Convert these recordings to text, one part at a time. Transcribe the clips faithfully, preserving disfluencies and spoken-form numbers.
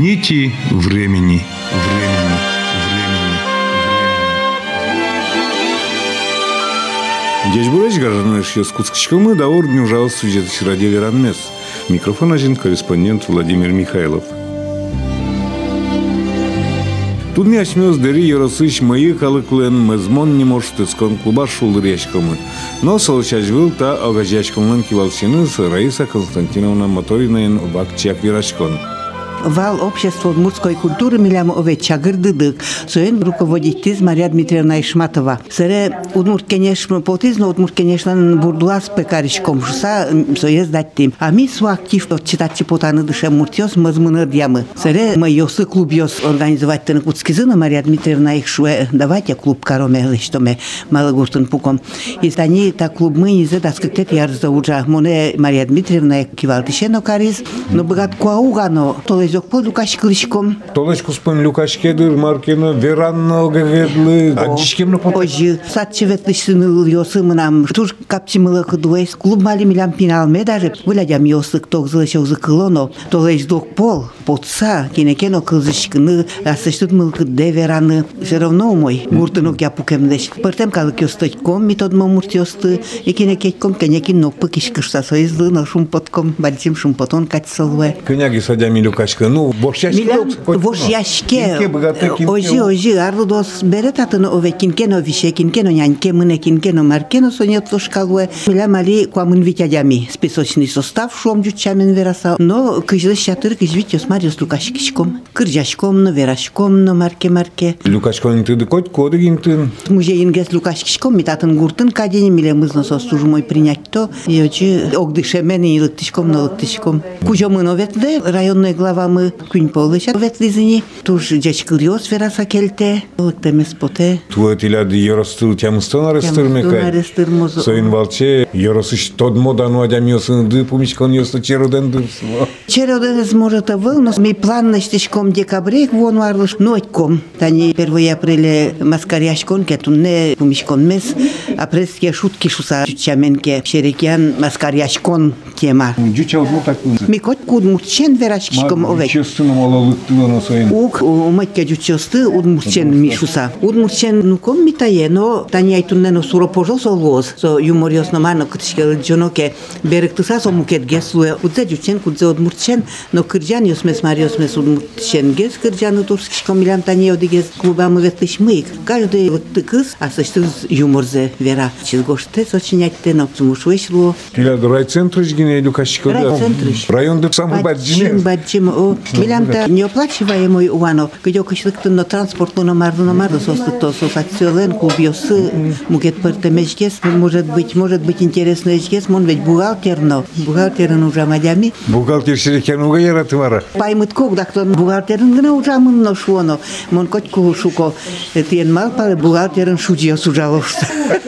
Нити времени. Времени. Здесь бураж гражданаш Якутскому давор не ужалось сюжет ради веранмес. Микрофон один корреспондент Владимир Михайлов. Тут не осмёс дери yorosыч мои халыклен мезмон не может искон клуба шулдырячкомы. Но солчажвыл та огажачкомлен кивалчиныз Раиса Константиновна Моторинен вакчак вирачкон. Вал общества удмуртской культуры милям овет чагырдыдык. Соен руководитель Мария Дмитриевна Ишматова. Сыре удмурт, конечно, потизно удмурт, конечно, бурдулас пекаричком шуса соез даттим. А ми су актив читать потаны дыше муртиос мазмыныр дьямы. Сыре мы ёсы клуб ёс организовать тын куцкизына Мария Дмитриевна их шуэ давайте клуб кароме лиштоме малогуртын пуком. И стани та клуб мы не задаскать ярза уджа. Моне Мария Дмитриевна кивалтишено кариз. Но богат куаугано то Зокпо Лукаш Кличком. Толечку спом Лукаш Кедр, Маркина, Веранно, Гаведлы, а дичкем на потом. Ожи, садчевет лишныл ёсы нам, тур капчимыла кудуэс, клуб мали милям пиналме даже, вылядям ёсы, кто злэшел закылоно, толеч докпол, потса, кинекено кылзышкыны, асыштут мылкы де вераны, все равно мой, гуртынок я пукемдеш. Пыртем калык ёсточком, метод мамурт ёсты, и кинекетком, кенекин нокпы кишкышса, соизлы на шумпотком, бальцим шумпотон катсалве. Коняги садями Лукашка. Ну, борщашке. Борщашке. Ожи, ожи, арлудос беретатын ове кинкено више, кинкено няньке, мыне кинкено маркено сонет лошкалуе. Миля мали куамын витядями списочный состав шом джучамен вераса. Но кыжлы шатыр кыжвит ёсмарьос Лукашкишком. Кыржашком, но верашком, но марке-марке. Лукашкон ты дыкот коды гинтын. Мужеингес Лукашкишком митатын гуртын кадени миле мызно состужмой принять то. И очи огдышемен и лыктышком, но лыктышком. Кужомын оветле районный глава мы кунь полыша ветлизини туж дечкыльос вераса келте лыктемес поте тует иляды yorostыл тямыстон арестырмекай соин балче yorosыш тодмодану адямиосын ды пумичкон ёсты чероден дырсыва чероден может был но ми план на стишком декабре вон варлыш нойтком тани первого апреля маскаряшкон кетунне пумичкон мес апрельские шутки шуса чаменке шерекян маскаряшкон тема джуча удмуртак ми кот кудмурчен верашкишком овек честным алалыктылы на своим ук уматья джучосты удмурчен мишуса удмурчен нуком митае но тани айтуннено суропожо солвоз со юмориосно мано кытышкел джоноке беректыса со мукет геслуе удзе джучен кудзе удмурчен но кырджан ёсмес мариосмес удмурчен гес кырджаны турскишком милям тани одигез клубамы ветлыш мыйк каждый выктыкыз асыштыз юморзе вера чизгоште сочинятте но цумушуэшло тиляд райцентрыш гине Лукашкико райцентрыш районды самый баджине баджим о милямта неоплачиваемый уано где кышлыктын но транспортно марду на марду состыкто сосациолен клубьосы мукет пертемечкес может быть может быть интересно эчкес мон ведь бухгалтерно бухгалтерын ужамадями бухгалтер шерекен уга яратывара паймыт когдактон бухгалтерын гына ужамын но шуоно мон котку шуко тиен мал пале бухгалтерын шудьёс ужалошта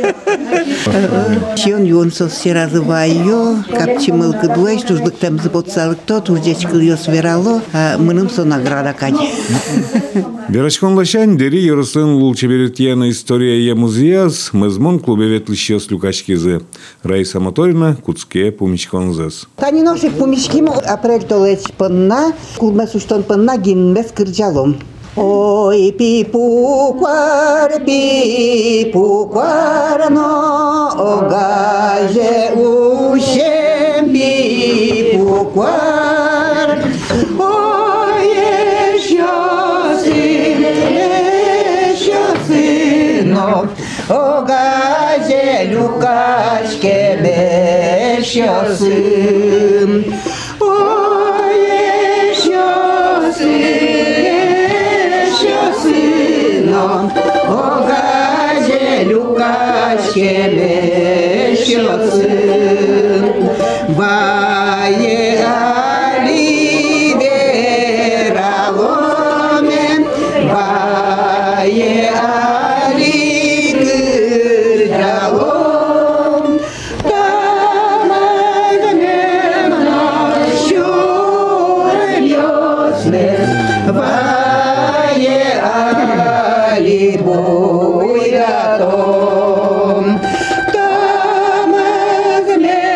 Чион юнсо серазывайо капчимылкы дуэш тужлыктем запоцалыкто туждечкыл ёс верало а мыным со награда кань. Верачкон лашань дери yorostын лулчеберитияна история я музеяс мызмон клубе ветлыщёс Лукашкизе Раиса Моторина куцке пумичконзес. Тани ношик пумичким апрель толеч пынна клубме суштон пынна гинмес кырджалом. Ой, пипуквар, пипуквар, но огаже ущем пипуквар. Ой, еще сын, еще сынок, огаже Лукашке еще сын. Ой, еще сын. Огазе Лукашке мещосын, вае оливераломен, вае оливералом, тамагмен нощур ёснес, вае Буйратом, там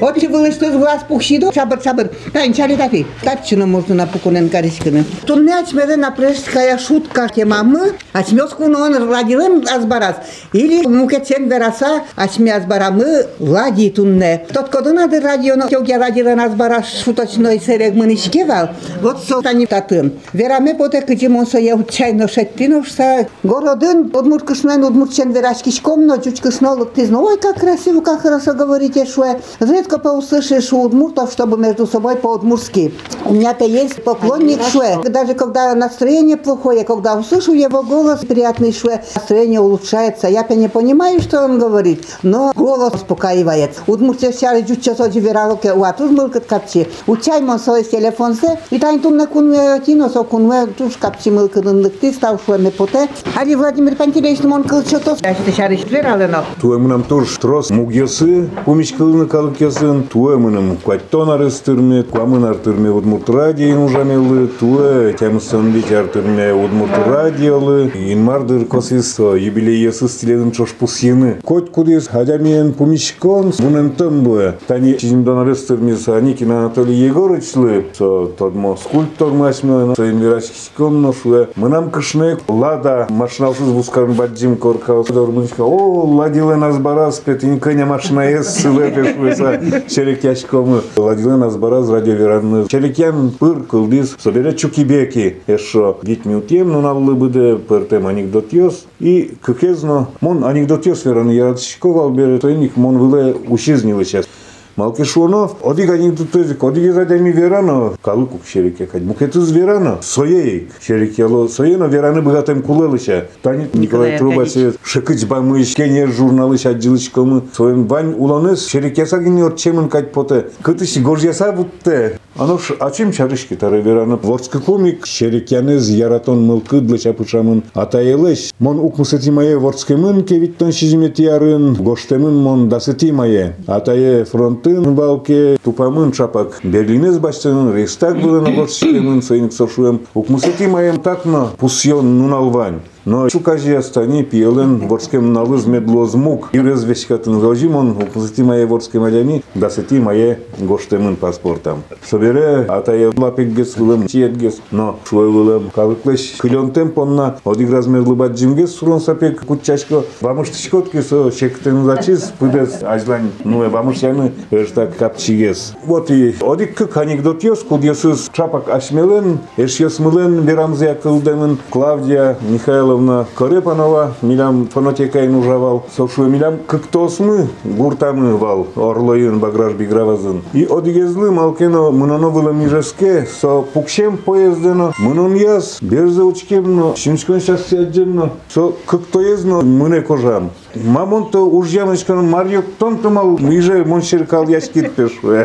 Вот и было, что с глаз пухшидо, шабр, шабр. Да, ничали тафи. Тарчину можно на пукунен каришкины. Тунне ачмере напрежская шутка темамы, ачмёску он радилым азбарас. Или мукетсен вераса, ачме азбарамы лади тунне. Тот, куда надо радио, я радилын азбарас шуточной серег мынишкевал. Вот со тани татын. Вераме поте кычимонсо я чайно шеттиновса. Городын удмурткышнен удмуртчен верашкишком, но чучкышно луктизно. Ой, как красиво, как хорошо говорите, что редко поуслышишь у удмуртов, чтобы между собой по-удмуртски. У меня-то есть поклонник Шуэ. Даже когда настроение плохое, когда услышу его голос приятный Шуэ, настроение улучшается. Я-то не понимаю, что он говорит, но голос успокаивает. Удмуртия вся чуть-чуть одивералоке, у атузмылкат капчи. Учай мон свой телефон се, и тань тумна кунве тиносо кунве туш капчи мылкадын лыкты стал Шуэ мепоте. Али Владимир Пантелеевич мон кылчотов. Я что шариш вералено. Туэмынам тоже трос мугьосы, пумичкылыны калыкьосын, туэмыным кваттон арыстырме, куамын артырме удмурт радио ужамелы, туэ тямысын бить артырме удмурт радиолы, инмардыр косис юбилейесы стиледын чош пусьены. Коть кудис хадямиен пумичкон, мунен тымбы, тани чизимдон арыстырмес Аникин Анатолий Егорычлы, со тодмо скульптор масьмён, со инверачкичкон ношуэ, мынам кышнек, лада машиналсыз бускарын баджим коркаус, дормынчка, о, ладилен азбарас, петин кыня машина ес, сылепеш веса, черекяшкомы, ладилен азбарас радиоверанны, черекян пыр кылдис, собере чукибеки, эшо, гитми утем, но навлы быде, пыртем анекдот йос, и кыкезно, мон анекдот йос вераны яратшковал, бере, тойник, мон выле ушизнилы сейчас. Малкишоно, одиг анекдотозик, одиг задами верано, калыкук шерекекать, мукетыз верано, соей шерекело, соено вераны богатым кулелыша. Танит Николай Трубачев, шекыч бамыш, кене журналыш аджилычкомы, своим бань уланес, шерекесагини отчемын кать поте, кытыш горжяса будте. Оно ж, а чем чарышки тары верано? Вордский комик, шерекянез яратон мылкыдлы чапышамын, атаелыш, мон укмысыти мае вордский мын, кевиттон шизимет ярын, гоштемын мон дасыти мае, атае фронт Тын балке тупамын чапак Берлинез баштанын Рейхстаг было на борщикемын союник сошуем. Укмусати маем такно пусьон нуналвань. Но чукажи остани пиелен ворскем налыз медлозмук. И развешкатын зожим он укмусати мае ворские маляни дасыти мае гоштемын паспортам. Собере атае лапекгес вылым чиетгес. Но шуэ вылым калыклеш кылен темпонна одиг размерлы баджимгес сурон сапек кутчашко. Бамыштышкотки со шектен зачиз пыдес ажлань нуэ бамыштяны так капчигес. Вот и одик как анекдот йос, кудьесыз чапак ашмелен, эшьес мылен верамзе акылдемын Клавдия Михайловна Корепанова, милям фонотекайн ужавал, сошуэ милям кыктосмы гуртамы вал, орлоин баграж бигравазын. И одигезлы малкено мыноно было мижеске, со пукшем поездено, мынон яз, берзе учкемно, шинчкон щас сядженно, со кыктоезно мыне кожам. Мамонто уж ямочкан Марьёк тонтомал, миже моншеркал яскит пешуэ.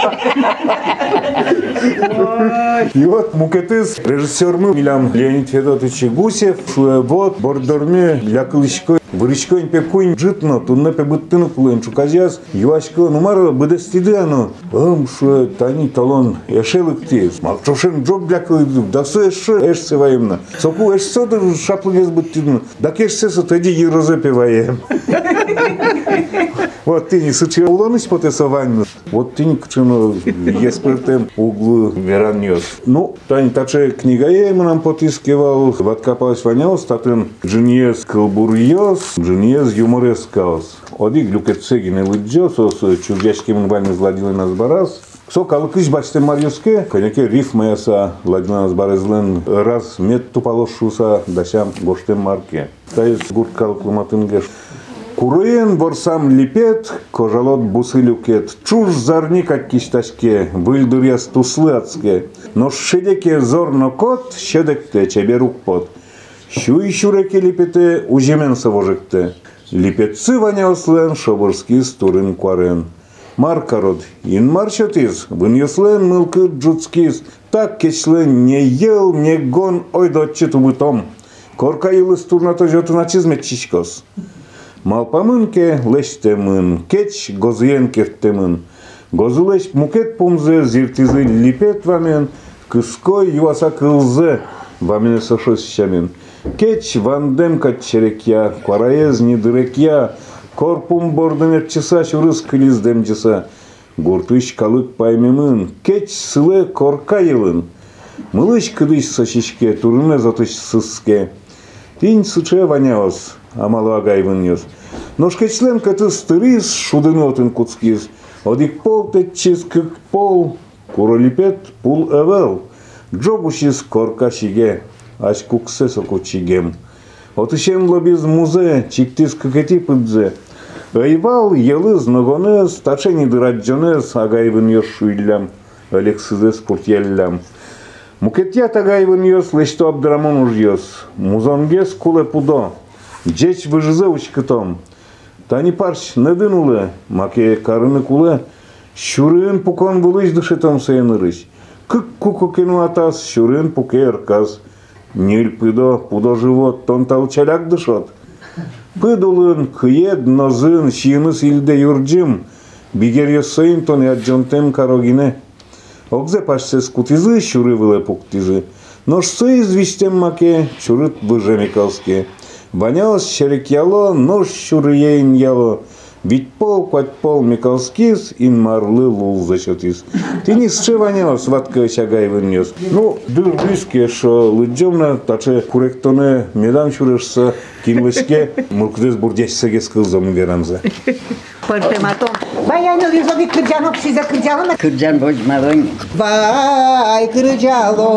И вот мукетыз режиссермы милям Леонид Федотович Гусев, шуэ вот бордорме лякылышко вырычкоин пекуин житно, тунне пебыттыны кулын чуказяз, юашко нумаро быдестиды ано, ым шуэ тани талон эшелыктез, малчошен джоб лякылыды, да со эше эшсе ваемна. Соку эшсе да шаплыгез быттыдны, да кешсесо тоди ерозепе ваем. Вот ты не сычи уланыш потесованно, вот ты не кчено еспертем углу вераньёс. Ну, тань таче книга ему нам потискивал, откопалась ванял, статын джиньез калбурьёс, джиньез юморес каос. Одик люкетсегин и лыджёс, с чуждяшким вальны зладилы нас барас. Со калыкыш бачте марьёске, коньяке рифма яса, ладила нас барезлен, раз мет тупалошуса, дащам гоштем марке. Таис гурт калкулматынгеш. Куруен борсам липет, кожалот бусы люкет. Чуж зарникать кишташке, выльдыр яс туслы ацке. Но шедеке зорно кот, щедекте чеберук пот. Щуй щуреке липете, ужемен совожекте. Липетцы ваняослен, шоборский стурын куарен. Маркарод, ин марчотиз, выньослен мылкы джуцкиз. Так кечлен не ел, не гон, ой дотче тубытом. Корка илы стурнато жотына чизмет чичкос. Малпамынке лештемын, кеч гозыенкертемын. Гозылеш мукет пумзе, зиртизы липет вамен, кыской юаса кылзе, вамене сошос щамен. Кеч вандем катчерекя, квараез не дырекя, корпум бордымет часа, чурыс кылиздем часа. гуртыш калык паймемын, кеть сылы коркайылын. Мылыш кыдыш сочишке, турне затыш сыске. Тинь сыче ванялась, амалу агайвын Ножкечлен каты стырис, шудынотын куцкиз. Одик пол тетчиз кык пол, куролипет пул эвел. Джобушиз корка шиге, аш куксе соку чигем. Отышен лобиз музе, чиктиз кыкети пыдзе. Айвал елыз ногонез, тачени дыраджонез, агайвын йос шуйлям, алексызес пуртьеллям. Мукетья тагайвын йос, лешто абдрамон уж йос. Музонгес куле пудо, джеч выжызе учкытом. Тани парч недынуле, маке карыны куле, шурын пукон булыш дышетом сыйынырыш. Кык кукукену атас, шурын пуке эрказ. Ниль пыдо, пудо живот, тон талчаляк дышот. Пыдулын, кыед, нозын, шиыныс илде юрджим, бигер йосыйын тон яджонтем карогине. Огзе пашсес кутизы, шуры выле пуктизы. Нож сы известем маке, шурыт выжемикалске. Ванялось черек яло, нож шурыейн яло. Ведь пол, квать пол микалскис, ин марлы лул зачетис. Ты не сче ванялось, ватка чагай вынес. Ну, дыр близкие, шо лыджомна, таче куректоне медам шурышса, кинвышке, муркдес бурдящсаге скылзом верамзе. Пărtemătom. Vai, ai nu lizo de cârgeană și de cârgeană. Cârgean boci maroni. Vai, cârgealo.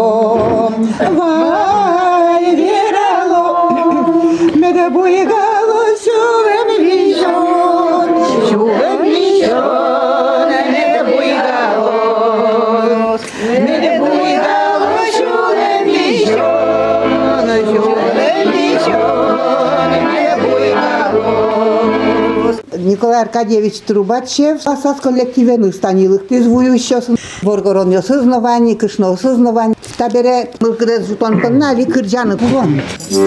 Vai, viralo. Me de buigalo, șuvem vișon. Șuvem vișon, me de buigalo. Me de buigalo, șuvem vișon. Șuvem vișon, me de buigalo. Николай Аркадьевич Трубачев, асас коллективен станилых ты звующий, воргорон осознавание, кышно осознавание. Табере мылкыдес жутон паннали кырджаны пулон.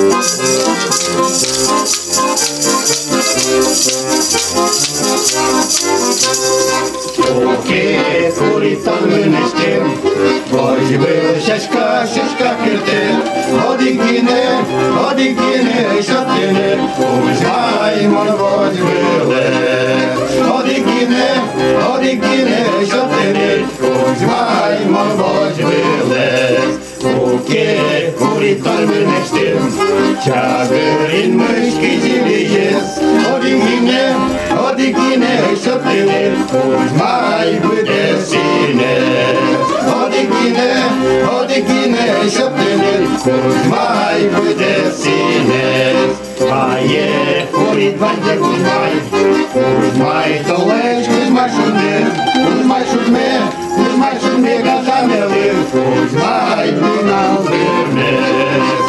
Oke, kuritan mânește, voi vă șașca, șașca cârte, odichine, odichine, șaptene, uși mai mult voi văle. Odichine, odichine, șaptene, uși mai mult voi văle. Oke, kuritan mânește, ceagări-n mâșchi zile ies, odichine, odichine, șaptene, uși mai văde sine. Odichine, odichine, șaptene, uși mai văde sine. Aie, curit vande, uși mai, uși mai tăleci, uși mai șurme, uși mai șurme, uși mai șurme, gata mele, uși mai până al vârnesc.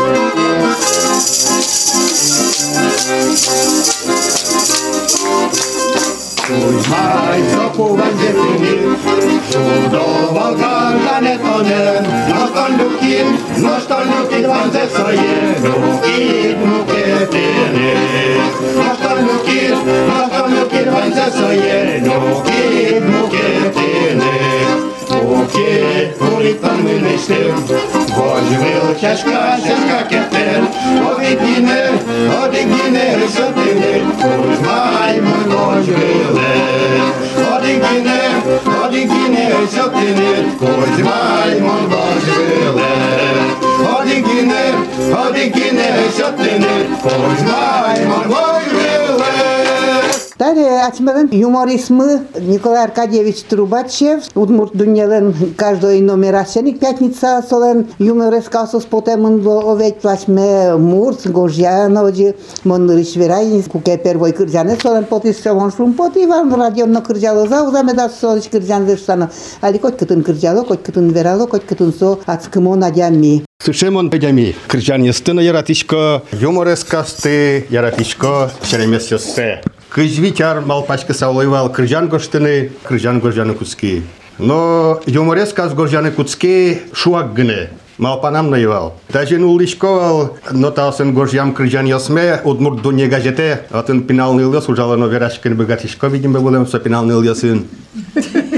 Uși mai zăpuvan de tine, Șudo valgar la netone, Noston lukin, noston lukin vanze soie, Lukit muketene. Noston lukin, noston lukin vanze soie, Lukit muketene. Oke, kuritan mânește, Voci vil ceașca, ceașca cheter, Odichine, odichine, șaptene, Uși mai mult voci vile. Odichine, odichine, șaptene, Uși mai mult voci vile. Odichine, odichine, șaptene, Uși mai mult voci vile. Далее, отмерен юморизм Николай Аркадьевич Трубачев, удмурт дунелен каждой номерасеник пятница солен юмореска со спотемын овет плачме мурт гожјанови мон ришверај куке первой кырджане солен потис шавон шум поти ван радионно кырджало за узаме да солич кырджан зештано али кој кытын кырджало кој кытын верало кој кытын со ацкымо надями. Сушемон педями, кырджан естына яратишко, юморескасты яратишко шеремесёссе. Кыжвичар малпачка саулайвал кырджан гоштыны, кырджан горжаны куцки. Но юморескас горжаны куцки шуак гыне. Малпанам наивал. Даже нулишковал, но талсен горжям кырджан ясме, удмурт дуне газете, атын пиналный лес ужало, но верашкин богатишко, видимо, будем со пиналный лесын.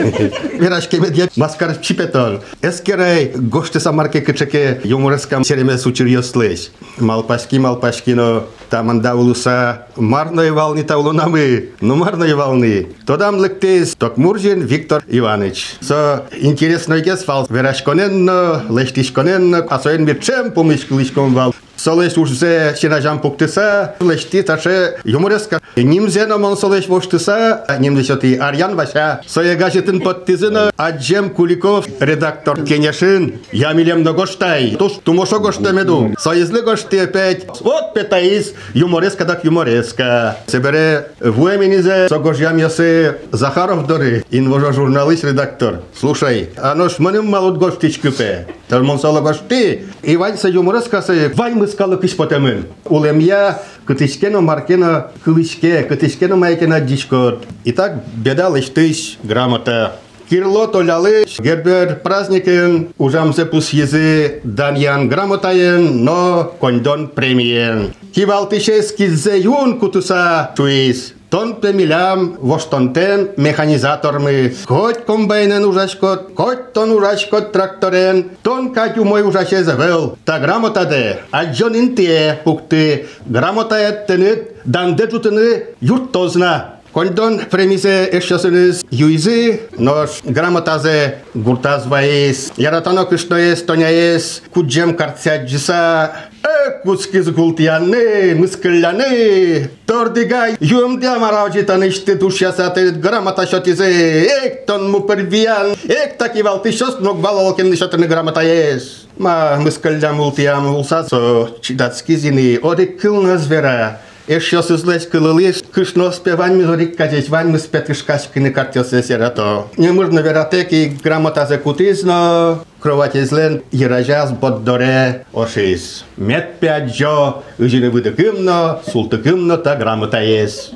Вирашки медиа маскар чипетол. Эскерай гоште самарке кычеке юмореска сереме сучирьёс слэш. Малпашки малпашкино тамандаулуса марной волны таулунамы, ну марной волны. Тодам лектес Токмуржин Виктор Иванович. Со интересной гесфал верашконенно, лештишконенно, асоен мирчем помышкалышком вал. Солеш уже синажам пуктыса, лешти таше юмореска. Нимзена мон солеш воштыса, нимдесети Арьян Вася. Сое газетын подтызына Аджем Куликов, редактор Кенешин. Я милем на гоштай. Туш тумошо гоштемеду. Соезлы гошты опять. Вот петаис юмореска так юмореска. Себере вуэминизе согожьям ясы Захаров дори. Инвожа журналист редактор. Слушай, оно ж манем малот гоштич кюпе. Талмон сало гошты. Ивань са юмореска се вань мы скалы кыш потемын. Улемья кытышкено маркено кылышке, кытышкено майкено дичкот. Итак, беда лыштыш грамота. Кирло толялы, гербер праздникен, ужамзе пус езы даньян грамотаен, но кондон премиен. Кивалтышес киззе юн кутуса чуис. Тон пемилям воштонтен механизатормы. Хоть комбайнен ужашкот, хоть тон ужашкот тракторен, тон катю мой ужаше завел. Та грамотаде, аджон интие пукты, грамотаят тенет, дандетутыны юртозна. Кондон премисе ешосыныз юйзы, нож грамотазе гуртазваес, яратано кышноес, тоняес, куджем карцяджиса, э, куцкиз гултияны, мыскылляны, тордигай, юмди амараджитаны шты душясаты грамота шотизе, эк тон мупервиян, эк таки валты шос ног балолкен шотыны грамотаес. Ма мыскыллям ултиям улсацо, чидацкизини, одик кылна звера. Еще сызлась кылылыш, кышно спевань мизорик казеть, вань мы спетышкашкины картился серато. Не можно вератеки грамота закутизно, кровати злен, еражаз боддоре ошис. Мет пять джо, ужины выдыкымно, султыкымно та грамота есть.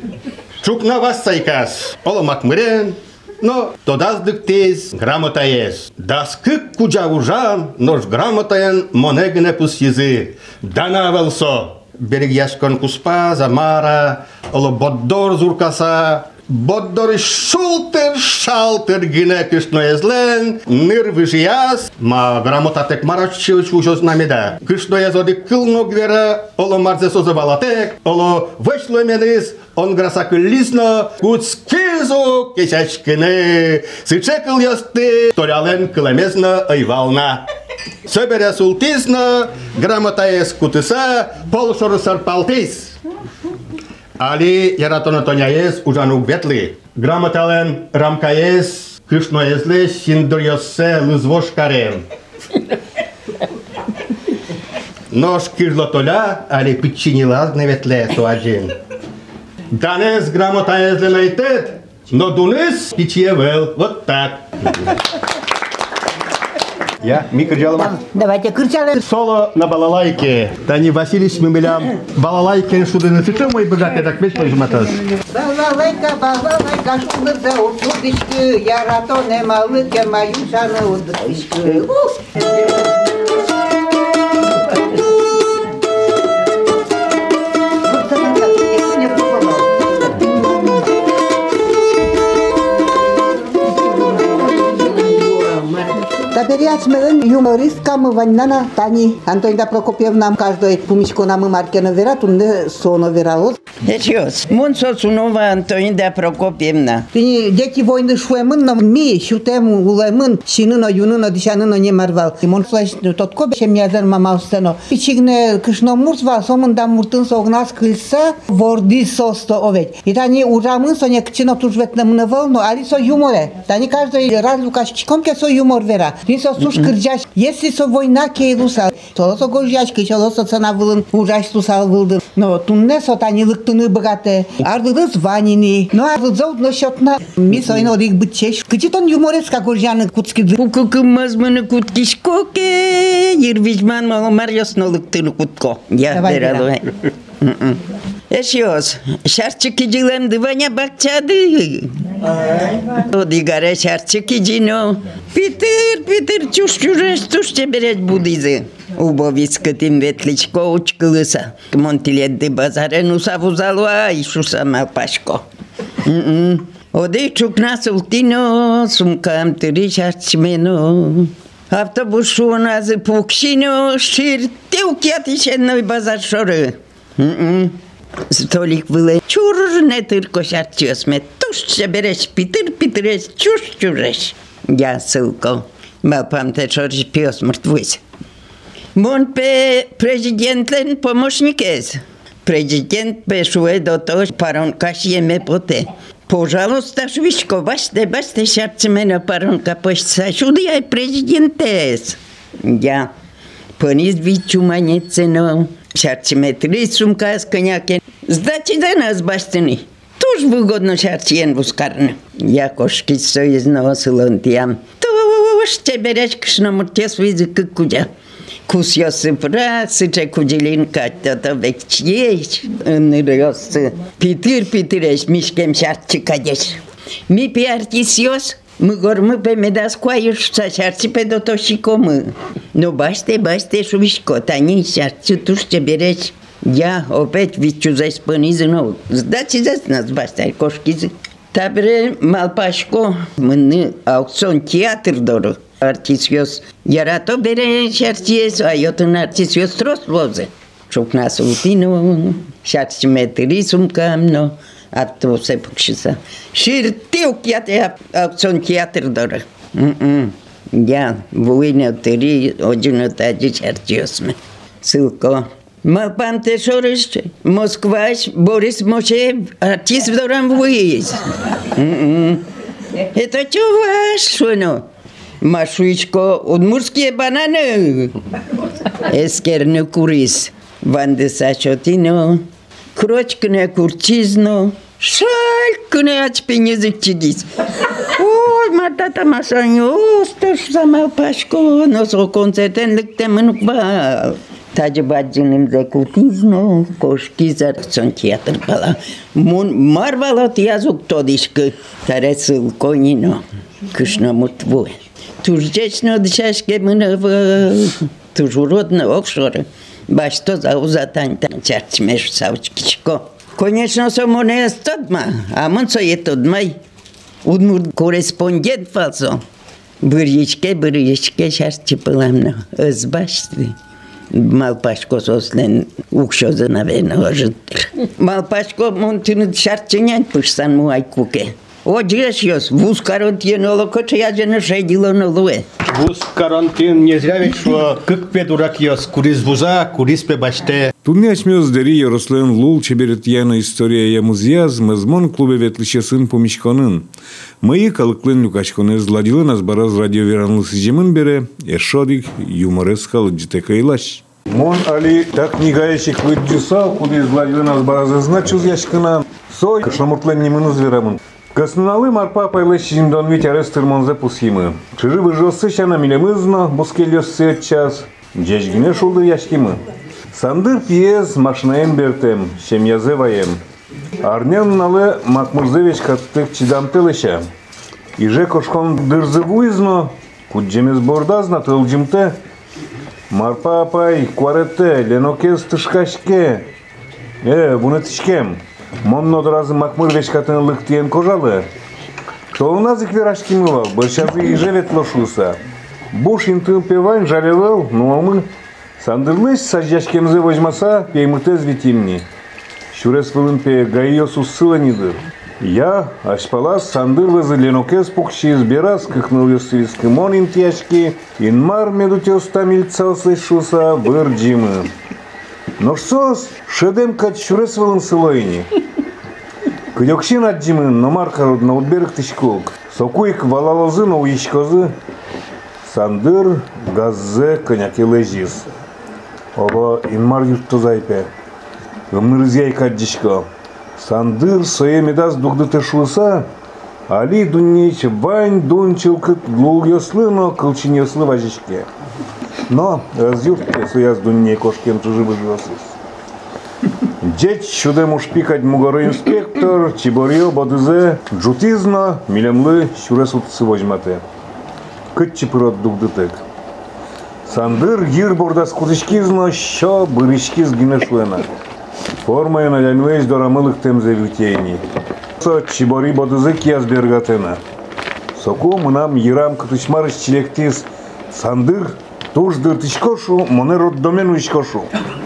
Чук на вас сайкас, оломак мырен, но тодаз дыктез грамота есть. Дас кык куджа ужан, нож грамотаен монегне пус езы. Дана велсо. Берегяшкон куспа, замара, оло боддор зуркаса, боддор шултер, шалтер, гинекишно езлен, ныр вижияс, ма грамотатек марачевич ужос намеда. Кишно езоди кылно гвера, оло марзе созывалатек, оло вышло менис, он граса кыллизно, куцкизу кешачкине, сычекыл ясты, торялен кылемезно айвална. Соберя султизно, грамотаес кутыса, полшорысар палтис. Али яратона тоняес ужану ветли. Грамотален рамкаес, кышноезле синдырьосе лызвошкарен. Нож кирлотоля, али пичинила гневетле суаджин. Данес грамотаезле найтет, но дунес пичьевел. Вот так. Я, ми кырджалыма. Давайте кырджалы. Соло на балалайке. Тани Васильевич мемелям. Балалайке шудыны цыты мой богатый, так весь пожматас. Балалайка, балалайка, шудырда уртудышкы, ярато немалыке маюшаны удышкы. Таберяц мелен юмористка мы ваннана Тани Антонина Прокопьевна каждой пумичко нам маркена вера тунде соно верало. Ечиос, мон соцунова Антонина Прокопьевна. Тини дети войны шуемын на ми шутем улемын шиныно юныно дишаныно не марвал. И мон слаш тотко бешем язер мамаустено. Пичигне кышно мурсва сомын да муртын согнас кылса ворди состо овет. И тани урамын соня кчино тужветна мневал, но али со юморе. Тани каждый раз лукашчиком ке со юмор вера. Тин со суш кырджаш. Если со война кейлуса, то со горжачки, то со цена вылын ужаш тусал вылдын. Но тунне со тани лыктыны богате. Ардыдыз ванини. Но ардыдзов но счетна. Ми сойно рик бытчеш. Кычитон юмореска горжаны куцкиды. Кукукым мазмыны куткишкоке. Ирвичман маломар ясно лыктыны кутко. Я вералуай. Eşiyoruz. Şarçıkıcılarım dıvanya bakçadı. Odigare şarçıkıcino. Питер, Питер, чуш чужеш, чуш чебереш будизе. Убовискатим ветличко учкылыса. Монтилет де базаре нуса вузалуа и шуса малпашко. Оде чукна султино, сумкам тыри шарчмено. Автобус шуоназы пукшино, ширтил кятишенной базар шоры. Столик было чур не тырко шарчёсме, туш береш питыр питыреш, чуш чуреш. Я ссылко, малпам те шорж пёс мертвысь. Мон пе президентлен помощникез. Президент пешуе до то парон кашьеме поте. Пожалуйста, швичко, баште, баште шарцмена парон капошца, шудия президентез. Я понис вичу манецено, шарцметри сумка с коняке. Сдачи за нас баштени. Туж выгодно шарчен бускарно. Я кошки союзного сылонтиям. Туж тебереш кшномуртес визик кудя. Кусья сыпра, сыча куделинка, то векчеч, нырёсы. Питыр питыреш, мишкем шарчы кадеш. Ми пиартисьёс, мы гормы пемедас куаюш, са шарчы педотошикомы. Но баште, баште шувишко, тани шарчы тушче береш. Я опять вичу за испанизно, сдачи за нас баштай кошкизы. Табре малпашко, мы аукцион театр дорог. Артисьос ярато бере шарчиес, а йотын артисьос трос возе. Чукна султино, шарчметри сумкамно, а то се пукшиса. Ширтил кяте аукцион театр дорог. Я война тери, один тади шарчиосме. Сылко. Малпам те шориш, Москваш, Борис Мошев, артист вдорам вуиз. Это чуваш, шуно. Машуичко, удмурские бананы. Эскерне курис, ванде сачотино, крочкне курчизно, шалькне ачпенезик чидис. Ой, матата масаньо, сташ сама пашко, носо концертен ликте мынуква. Таджи баджиним за кутизно, кошки за сон театр бала. Мун марвалот язук тодишка, таресыл конино, кышно мутвуе. Туждечно дышашке мынова, тужуродно окшоры. Башто за узатань там чарчмеш савчкичко. Конечно, сомоне стадма, а мунцо е тодмай. Удмур корреспондент фалсо. Бырьичке, бырьичке шарчы пыламно, ызбашты. Малпашко сослен укшозы навено ожиттыр. Малпашко монтыны шарчынян пышсан муай куке. О, джешьёс, вуз карантин олокоче яджены шедило нолуэ. Вуз карантин не зря ведь, что как пе дурак ёс, курис вуза, курис пе баште. Тунне ачмёз дери Ярослен лул чеберет яна история ямузяз, мезмон клубе ветлишесын помишконын. Мыйы калыклен люкачконы зладилы нас бараз радиоверанлы сыжемын бере, эшодик юморес калыджите кайлаш. Мон али так книгаечек выджусал, куды зладилы нас бараз значуз яшкына, сой кашламуртлен немын зверамын. Касналы марпа пайлэшин дон вить арестыр монзе пусимы. Чыжы выжосы шана милемызно, бускельёсы час, джечгине шулды яшкимы. Сандыр пьез машнаем бертем, шем язываем. Арнен налы Макмурзевич каттык чидамтылыша. Иже кошкон дырзывуизно, куджемез бордазна тылджимте. Марпа апай, куарете, ленокез тышкашке. Э, буны тышкем. Монно доразы Макмурзевич катын лыктиен кожалы. Толуназык верашкимыла, большазы иже ветлошуса. Буш интын певайн жалевал, ну а мы... Сандырлыш саждяшкемзе возьмаса, пеймытез витимни. Шурес вылымпе гайосу ссыланидыр. Я, ашпалас, сандырлызы ленокез пукши изберас, кыхныл ёсывискы мон интяшки, инмар медутёста мильцасы шуса вырджимы. Но шсос, шедем кать шурес вылым сылойни. Кыдёкшин аджимы, но маркарод на утберг тышкулк. Сокуик валалозы, но уишкозы. Сандыр газзе коняки лежис. Оба инмар юртто зайпе. Гымнырызяй каджишко. Сандыр сое медас дугдыты шуса, али дуннейч вань дунчылкыт лул ёслыно кылчин ёслы важишке. Но разюртке суяз дунней кошкем чужибы жосыз. Джеч шудем ушпикать мугоры инспектор, чиборьё бодызе, джутизно, милемлы шуресутсы возьмате. Кытчы пырот дугдытык. Сандыр йыр бордас кудышкизно, шо бырышкиз гинешлена. Формая налянвейс дорамылык темзе вютейни. Со чибори бодызы кияз бергатена. Соку мынам йырам кытышмарыш чилектис сандыр туждыр тишкошу, моне роддомен уишкошу.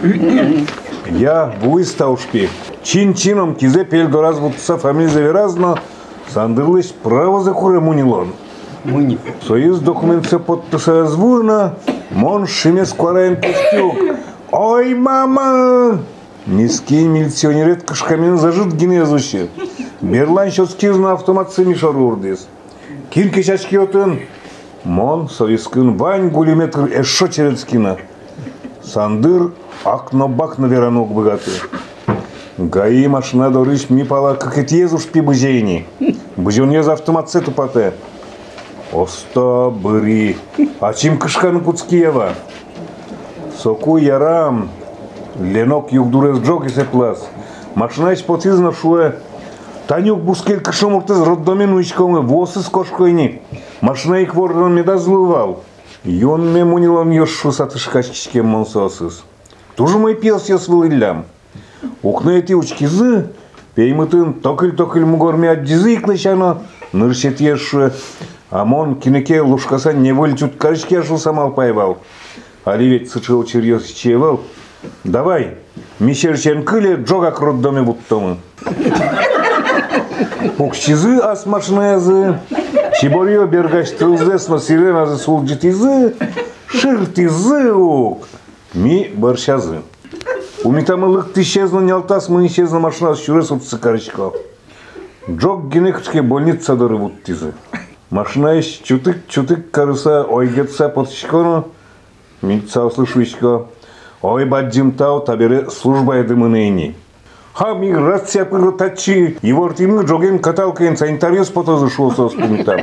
Я буиста ушпи. Чин-чином кизе пельдораз бутса фамилия заверазно, сандырлыш право закуре мунилон. Муни. Союз документация подписая звурно, мон шимес квараем пустюк. Ой, мама! Низкий милиционерет кашкамен зажит генезуще. Берлан шоскизна автомат семишар урдис. Кирке чачки отын. Мон союзкын вань гулиметр эшо черецкина. Сандыр акно-бакно веранок богаты. Гаи машина дорыш ми пала как этьезуш пи быжейни. Быжон ез автомат сету пате. Оста быри. А чим кышканы куцкиева? Соку ярам. Ленок югдурез джок исе плас. Машина иш потизна шуе. Танюк бускель кышомуртез роддомен уичкомы восы с кошкойни. Машина их вордон меда злывал. Йон ме мунилом ёшу сатышкачкичке монсосыз. Тужу мой пелс я свылылям. Укны эти учкизы, пеймытын токыль-токыль мугорме аддизы иклышано, ныршет ешшуе. Амон кинеке лушкасан неволь чуткарычке ашу самал пайвал. Али ведь сычыл черьёз чевал. Давай, мишерчен кыле джогак роддоме буттомы. Укчизы ас машинаязы, чиборьё бергач тылзесно сиреназы сулджитизы, шыртизы ук. Ми борщазы. Умитамылык исчезна нялтас, мы исчезна машина с чурес от цикарычко. Джок генекчке больница доры буттизы. Машина иш чутык-чутык карыса ойгетса потышкону, милица услышуичко. Ой, баджимтау табере служба едымынейни. Ха, миграция пыротачи, ивортимы джоген каталкаен санитариос потозы шуосо спумитам.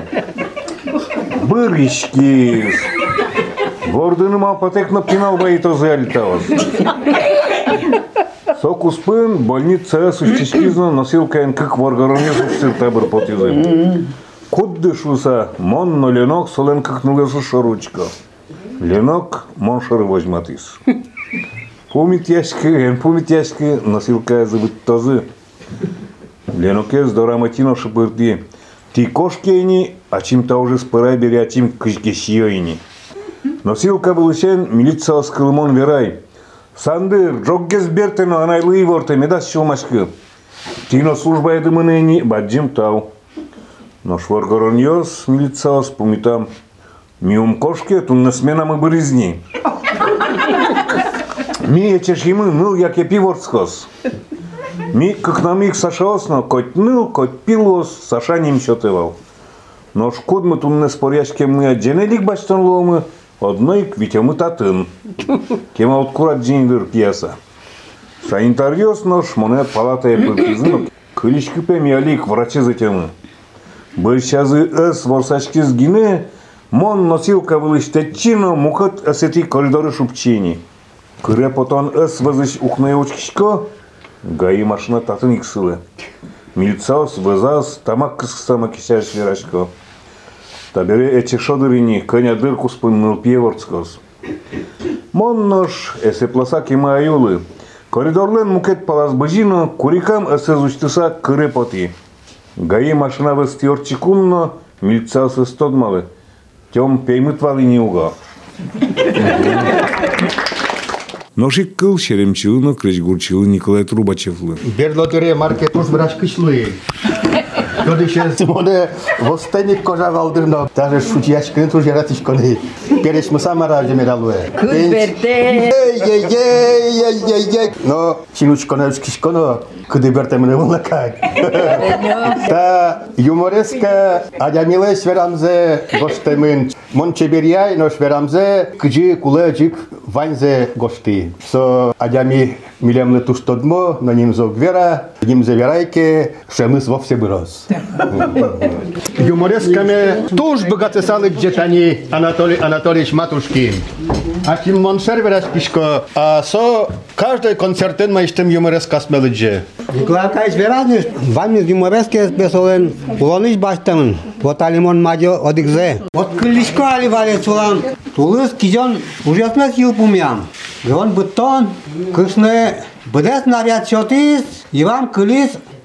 Бырышкиз. Вордыным алпатекно пинал баитозы алитавас. Сокуспын больница сущечкизно носилкаен как воргаронез устыр табыр потизы. Кудды шуса, мон но ленок солен как нулесу шоручко. Ленок мон шоры возьматис. Пумит яшки, пумит яшки, носилка забыть тозы. Ленокез дораматино шабырди. Ти кошкейни, а чим-то уже спырай бери, а чим кышкешьёйни. Носилка былышен милиция скылмон верай. Сандыр, джоггез бертено анайлы ворте медас шылмашкы. Тино служба едымынени баджим тау. Но шворгорон йос милиция спумитам. Миум кошке тунна смена мы бырызни. Ми ечешимы ныл яке пиворцкос. Ми как на миг сашаосно, коть ныл, коть пилос, саша ним счетывал. Но шкод мы тунне споряшке мы отженелик бачтан ломы, одной квитемы татын. Кема откурат джиндыр пьеса. Санитариос нож моне палата епыртизын, кылички пеми алик врачи затемы. Большазы эс ворсачки сгине, мон носилка вылыштечино, мухат эсети коридоры шупчини. Кыре потон эс вызыш ухнае учкичко, гаи машина татын иксылы. Милициос вызас тамак кысксама кисяш верачко. Табере эче шодырини, коня дырку спынныл пьеворцкос. Мон нож эсе пласа кема аюлы. Коридорлен мукет палас быжино, курикам эсе зучтыса кыре поти. Гаи машина вестиорчикумно, милициос эстодмалы. Тем пеймыт валини уга. Ношик кыл шеремчилыно кречгурчилы Николай Трубачевлы. Берлотере маркет уж брашкышлы. Тодышез моне восстаник кожа валдырно. Даже шутяшкын туж яратышконы. Переш мы сама ражемералуэ. Кызберте. Ей-ей-ей-ей-ей-ей. Но чинучконо учкишконо кыды бертемне вулакай. Та юмореска адямилеш верамзе гостемын. Мон чеберяй нош верамзе кыжы кулежик ванзе гости. Со адями милемле туштодмо, на ним зог вера, ним заверайке, шемыс вовсе бырос. Юморесками туж богаты салы где-то Анатолий Анатольевич Матушкин. А тем моншер верашкишко, а со каждый концертен маиштем юмореска смелыдже. Николай Аркадьевич веразный, вами юморески спесовен, улоныш баштамын, вот алимон мадё одикзе. Вот кличко аливали чулан, тулыс кижон ужасна сил пумям. И он бутон, кышны, бдес наряд шотис, и вам кылис,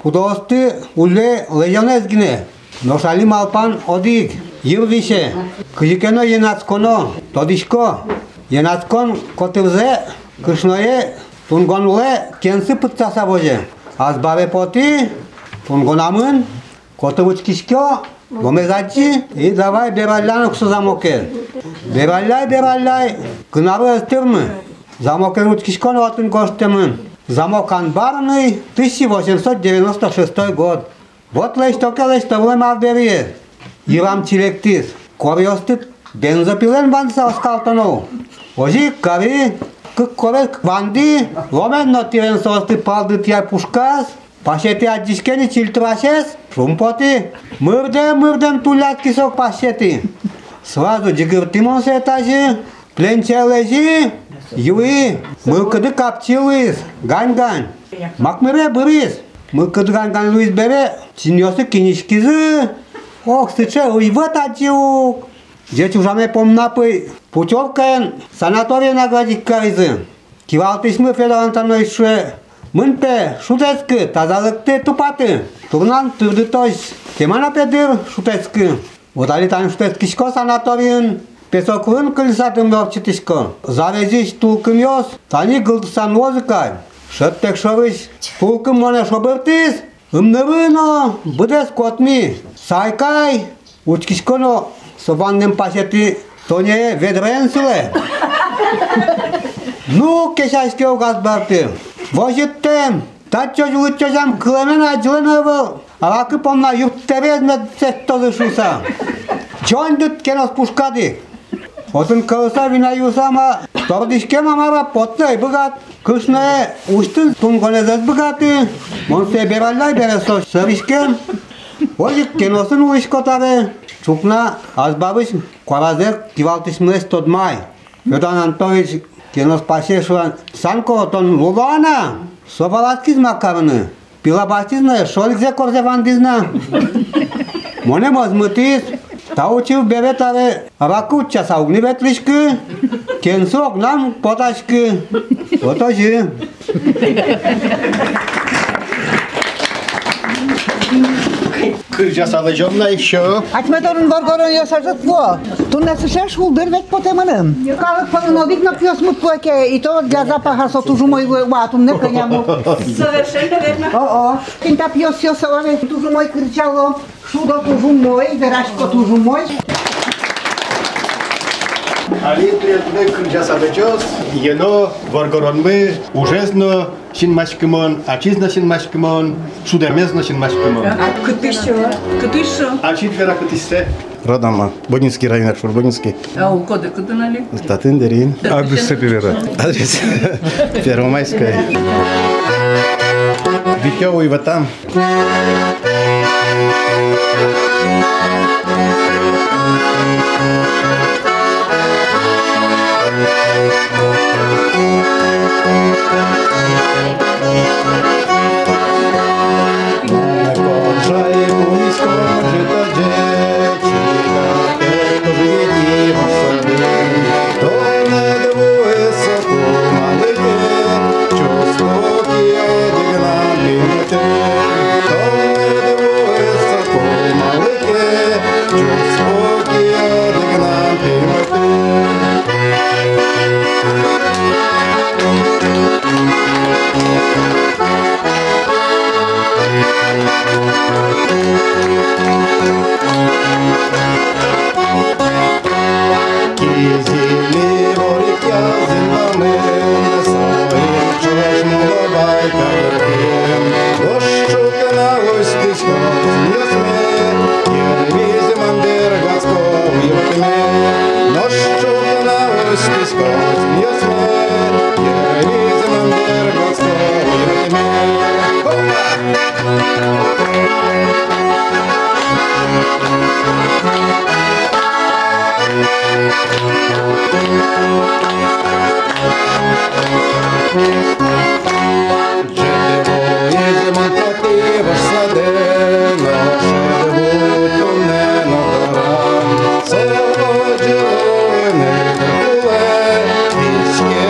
Пудосты уле лежанезгине. Ношали малпан одиг. Юрвише. Кыжикено енацконо. Тодишко. Енацкон котывзе. Кышное. Тунгонуле кенсы пытцаса боже. Азбаве поти. Тунгонамын. Котывычкишко. Гомезачи. И давай бералянок со замоке. Бералляй, бералляй. Кынары эстырмы. Замокен учкишкон отын гоштемын. Замок анбарный, тысяча восемьсот девяносто шестой год. Вот лештоке лештовлем авберие. Ирам чилектис. Кориостит бензопилен ванса оскалтонов. Ожи кари, кык корек ванди, ломен нотирен состы палдыт я пушкас. Пашети аджишкени чильтрашес, шумпоти. Мырдем, мырдем тулят кисок пашети. Сразу джигыртимон се этажи, пленче лежи. Юи, мылкыды капчылыз, гань-гань. Макмыре бырыз, мылкыды гань-гань луиз бере, чиньосы кинишкизы. Ох, сыче, уйват аджиук. Жеч ужаме помнапы, путевкаен санатория наградик каризы. Кивалтышмы Федорантаной шуе. Мынпе, шутецкы, тазалыкты тупаты. Турнан тырды тош, кемана педыр шутецкы. Водалитан шутецкишко санаториен. Песокрын кыльсатым ловчитишко. Завезиш тулкым йос, тани гылдысан музыкай. Шыттек шовыш, тулкым моне шобыртыз, ымнырыно, быдес котми. Сайкай, учкишконо, собанным пашети, тоне ведренсиле. Ну, кешайске угаз барты. Вожиттем, тачо жулычозам кылемен ажылынывыл. Алакы помна юрттевезмет сеттозы шуса. Чондыт кенос пушкадик. Отын кылса вина юсама, тордишке мамара поттай быгат. Кышне устын тунгонезет быгаты. Монсе бераллай бересо сыришкен. Ожик кеносын уишкотаре. Чукна азбабыш кваразер кивалтышмылеш тодмай. Федор Антонович кенос пашешуан санко тон лулуана. Собалаткиз макарыны. Пилабастизна шоликзе корзевандизна. Моне мозмытиз. Таучив бебетаре ракуча саугни ветлишкы, кенсок нам поташкы. Отожи. Кыржасалы жонна еще. Ачметорын варгорын ясажат во. Тунне сышеш улдыр век потеманым. Калык панын одик на пьёс мутпуэке, и то для запаха сотужу мой ватум не коняму. Совершенно верно. О-о, кинта пьёс сёсовare, тужу мой кричало, шудо тужу мой, верашко тужу мой. Али приятный кыржасалы жос, ено варгоронмы, ужезно шинмашкымон, ачизна шинмашкымон, шудемезно шинмашкымон. Кытышу. Кытышу. Ачит вера кытышсе. Родама, Бодинский район, Аршур Бодинский. А у коды куда нали? Статын Дерин. Адрес Сапивера. Адрес Первомайская. Витёва и Ватам.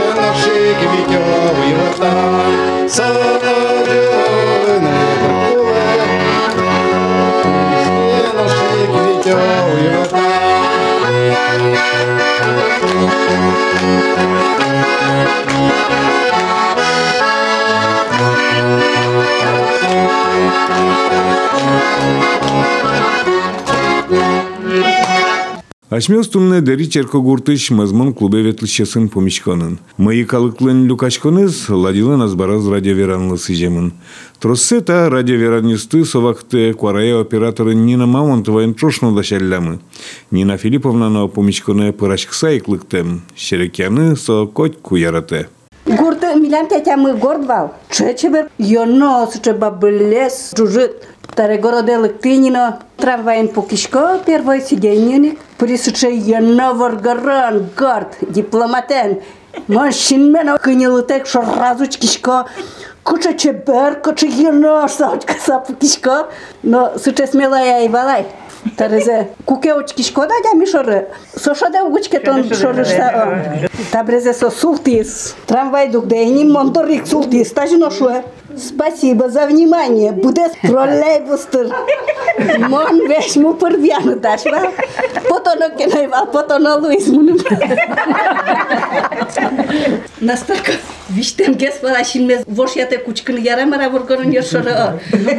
Садовый, не Ашмёс тумне дери черкогуртыш мазмон клубе ветлищесын помичконын. Мыйы калыклын люкачконыз ладилын азбараз радиоверанлы сыжемын. Троссе та радиоверанисты совакты кварая операторы Нина Мамонтова энтрошно дашаллямы. Нина Филипповна помичконе пырашкса иклыктем. Щерекяны со котьку ярате. Гурты милям тетямы гордвал. Чечебер йоно сычеба блес жужит. Тарегороделык тынино трамвайын покишко первое сиденье. Присыче йоно варгаран горд дипломатен. Машинмен кынелытек шоразуч кишко. Куча чебер, куча йоно саучка сапукишко. Но сыче смелая и валай. Тарезе кукеочки шкода да мишоры. Сошода угучке тон шорышта. Табрезе со султис. Трамвай дук да не монторик султис. Тажино шуэ. Спасибо за внимание. Буде троллейбустер. Мон веш му първяна дашва. Потоно кенайвал, потоно Луис мунum. Настолько виштен гес валашинмез вошяте кучкын ярамара воргорон ершора.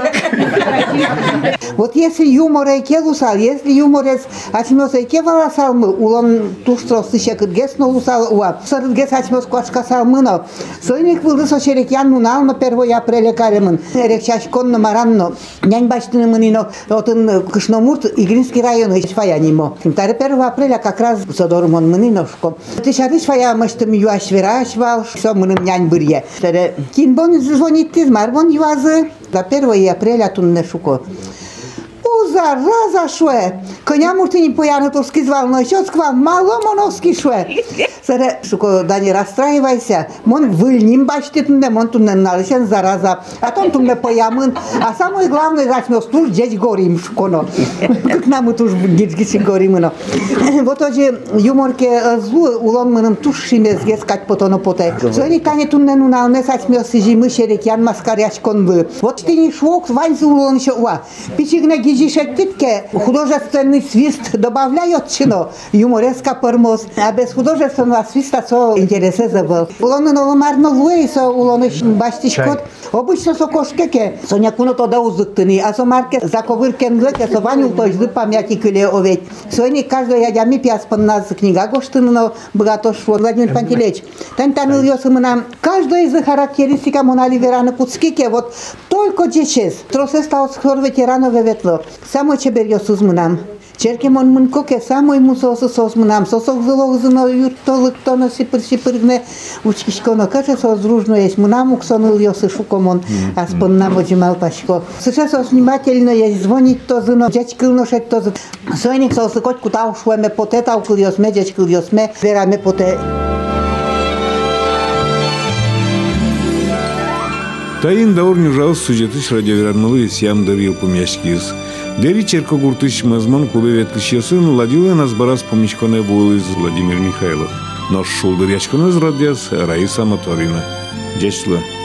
Вот если юмор и келусал, если юморец ачмёс и кевала салмы, улон туштрос тыща кыргес но усал уа. Сыргес ачмёс квашка салмыно. Сойник вылдыс очерек ян мунал на первое апреля каремын. Рекчаш конно маранно. Нянь баштыны мынино отын Кышномурт Игринский район ичфаянимо. Таре первого апреля как раз содормон мыниношко. Тышарыш фая мыштым юаш вераш вал, все мыным нянь бырье. Таре кинбон звонит тиз марбон юазы. До первого апреля тунне шуко. Зараза шуе. Коня муртини поянатовски звал, но еще сквал мало моновски шуе. Саре, шуко, да не расстраивайся. Мон выльним бачте тунне, мон тунне налышен зараза. А том тунне поямын. А самое главное, зачмёс туж дечь горим шуконо. Как нам туж дечь горим, но. Вот тоже юморке злу улон мыным туж шимез гескать потоно поте. Сони кане тунне нуналне сачмёс сижимы шерекян маскаряш конвы. Вот ты не швок, ваньзу улон еще уа. Пичигна гижиш Титке художественный свист добавляет чино, юмореска пормоз, а без художественного свиста со интересезабл. Улоны ноломарно луэй со улоны баштишкот. Обычно со кошкеке, со някуно то да узыктыны, а со марке заковыркен лыке, со ваню то жды памяти кыле оведь. Сони каждый ядями пяспан нас книга гоштыны, но богато шо. Владимир Пантелеич, тань таныл ёсымы нам, каждая из характеристика монали вераны пуцкике, вот только дечес. Тросе стал схор ветеранове ветло. Само чебер ёсыз мынам. Черке мон мын коке самой мусосы сос мынам. Сосок зылог зыно юртолык тоно сипыр-сипыргне учкишконо. Каже сос дружно есть мынам уксоныл ёсы шукомон. Аспон нам оджимал пашко. Сейчас сос внимательно есть звонить то зыно. Дячкыл ношет то зыно. Сойник сосы котку тау шуеме поте таукыл ёсме, дячкыл ёсме. Вераме поте. Тайын даур нюжаус сюжетыш радиоверанмылы сям дарил помяшкиз. Дери черкогуртыш мазмон клубе ветлищесын ладилы назбарас помичконе вулыз Владимир Михайлов. Нож шулдыр ячконез радиас Раиса Моторина. Дячла.